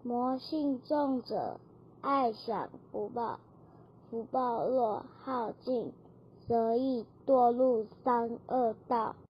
魔信重者，爱享福报，福报若耗尽，则易堕入三恶道。